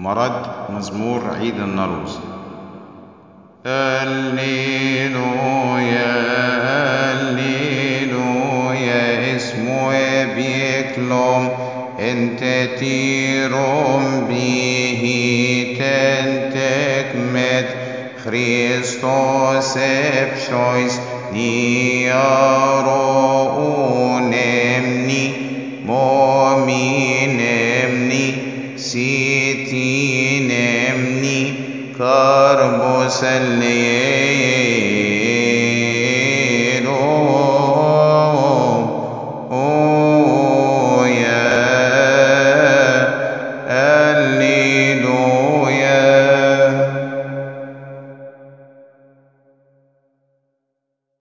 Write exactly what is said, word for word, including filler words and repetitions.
مرد مزمور عيد النروز. هللويا هللويا اسمه بيكلم انت تيروم به تنتكمت خريستوس ابشويس نيارون امني مؤمن امني سيتين امني كاربوس اللي